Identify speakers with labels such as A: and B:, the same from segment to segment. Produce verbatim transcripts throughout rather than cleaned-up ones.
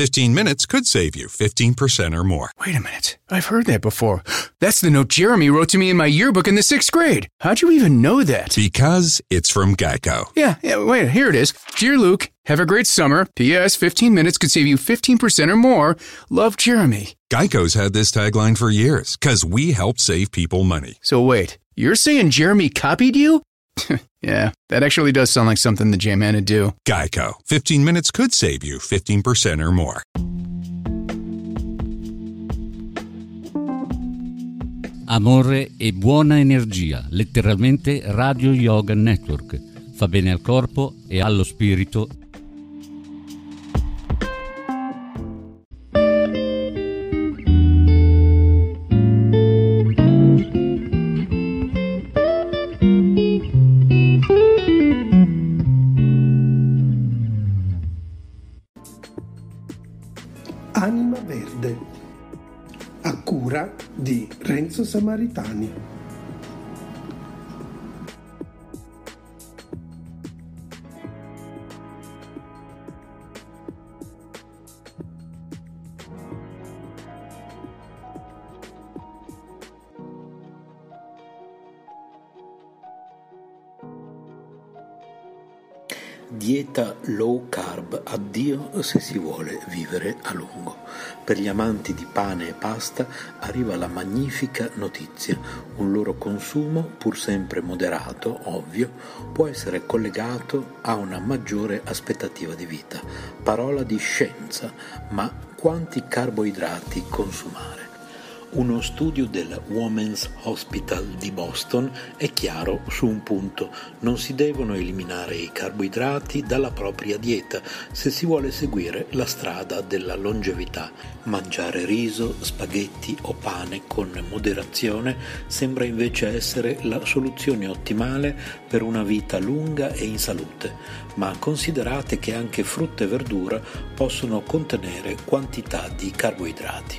A: fifteen minutes could save you fifteen percent or more.
B: Wait a minute. I've heard that before. That's the note Jeremy wrote to me in my yearbook in the sixth grade. How'd you even know that?
A: Because it's from Geico.
B: Yeah, yeah, wait, here it is. Dear Luke, have a great summer. P S fifteen minutes could save you fifteen percent or more. Love, Jeremy.
A: Geico's had this tagline for years, because we help save people money.
B: So wait, you're saying Jeremy copied you? Yeah, that actually does sound like something the J-Man would do.
A: Geico. fifteen minutes could save you fifteen percent or more.
C: Amore e buona energia, letteralmente Radio Yoga Network. Fa bene al corpo e allo spirito.
D: Anima Verde, a cura di Renzo Samaritani.
E: Dieta low carb, addio se si vuole vivere a lungo. Per gli amanti di pane e pasta arriva la magnifica notizia: un loro consumo, pur sempre moderato, ovvio, può essere collegato a una maggiore aspettativa di vita. Parola di scienza, ma quanti carboidrati consumare? Uno studio del Women's Hospital di Boston è chiaro su un punto: non si devono eliminare i carboidrati dalla propria dieta se si vuole seguire la strada della longevità. Mangiare riso, spaghetti o pane con moderazione sembra invece essere la soluzione ottimale per una vita lunga e in salute, ma considerate che anche frutta e verdura possono contenere quantità di carboidrati.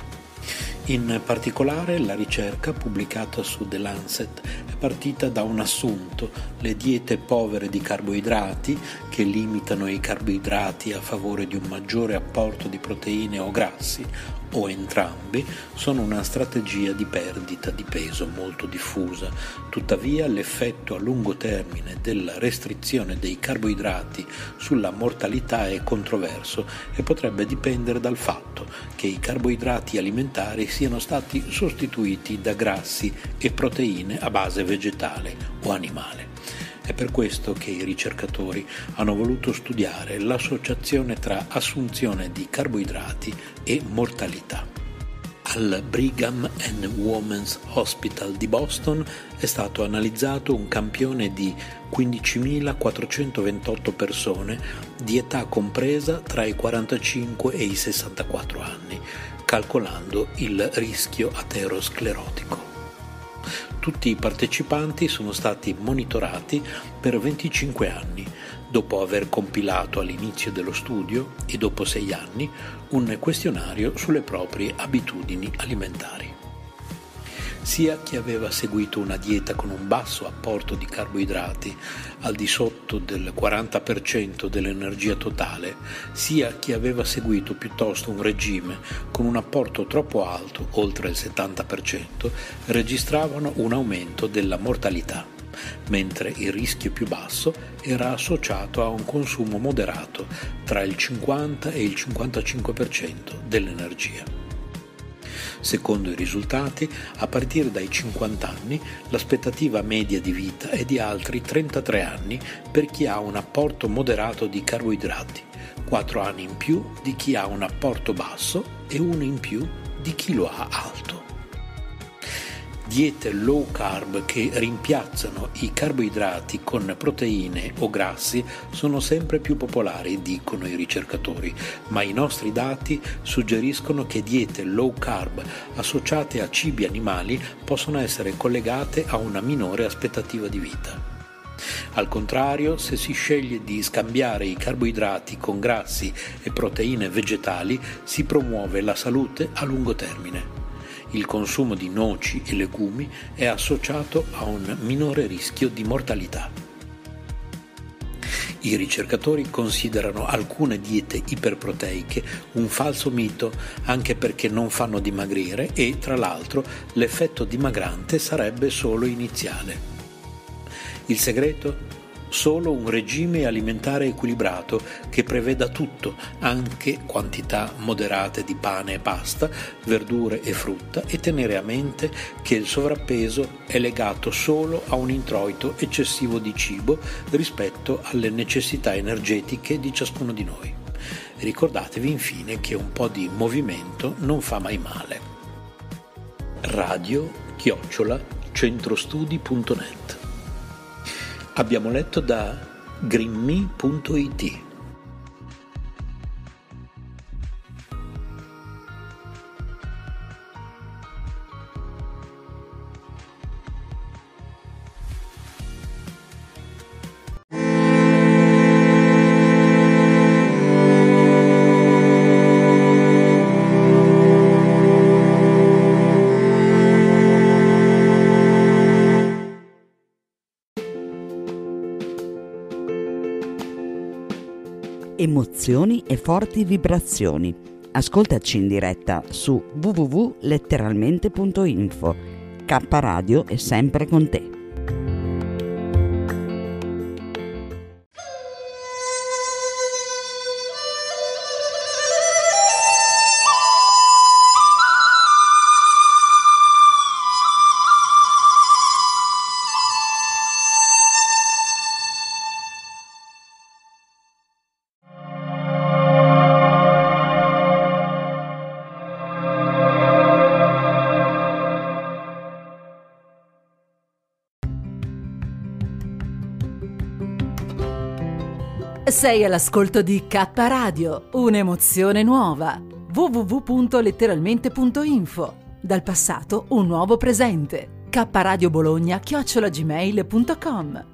E: In particolare la ricerca pubblicata su The Lancet è partita da un assunto: le diete povere di carboidrati, che limitano i carboidrati a favore di un maggiore apporto di proteine o grassi, o entrambi, sono una strategia di perdita di peso molto diffusa. Tuttavia l'effetto a lungo termine della restrizione dei carboidrati sulla mortalità è controverso e potrebbe dipendere dal fatto che i carboidrati alimentari siano stati sostituiti da grassi e proteine a base vegetale o animale. È per questo che i ricercatori hanno voluto studiare l'associazione tra assunzione di carboidrati e mortalità. Al Brigham and Women's Hospital di Boston è stato analizzato un campione di quindicimilaquattrocentoventotto persone di età compresa tra i quarantacinque e i sessantaquattro anni, calcolando il rischio aterosclerotico. Tutti i partecipanti sono stati monitorati per venticinque anni, dopo aver compilato all'inizio dello studio e dopo sei anni un questionario sulle proprie abitudini alimentari. Sia chi aveva seguito una dieta con un basso apporto di carboidrati, al di sotto del quaranta per cento dell'energia totale, sia chi aveva seguito piuttosto un regime con un apporto troppo alto, oltre il settanta per cento, registravano un aumento della mortalità, mentre il rischio più basso era associato a un consumo moderato tra il cinquanta e il cinquantacinque per cento dell'energia. Secondo i risultati, a partire dai cinquanta anni, l'aspettativa media di vita è di altri trentatré anni per chi ha un apporto moderato di carboidrati, quattro anni in più di chi ha un apporto basso e uno in più di chi lo ha alto. Diete low carb che rimpiazzano i carboidrati con proteine o grassi sono sempre più popolari, dicono i ricercatori, ma i nostri dati suggeriscono che diete low carb associate a cibi animali possono essere collegate a una minore aspettativa di vita. Al contrario, se si sceglie di scambiare i carboidrati con grassi e proteine vegetali, si promuove la salute a lungo termine. Il consumo di noci e legumi è associato a un minore rischio di mortalità. I ricercatori considerano alcune diete iperproteiche un falso mito, anche perché non fanno dimagrire e, tra l'altro, l'effetto dimagrante sarebbe solo iniziale. Il segreto? Solo un regime alimentare equilibrato che preveda tutto, anche quantità moderate di pane e pasta, verdure e frutta, e tenere a mente che il sovrappeso è legato solo a un introito eccessivo di cibo rispetto alle necessità energetiche di ciascuno di noi. Ricordatevi infine che un po' di movimento non fa mai male. Radio chiocciola centrostudi punto net. Abbiamo letto da greenme punto it.
F: Emozioni e forti vibrazioni. Ascoltaci in diretta su w w w punto letteralmente punto info. K Radio è sempre con te.
G: Sei all'ascolto di K Radio, un'emozione nuova. w w w punto letteralmente punto info. Dal passato un nuovo presente. K Radio Bologna chiocciola gmail punto com.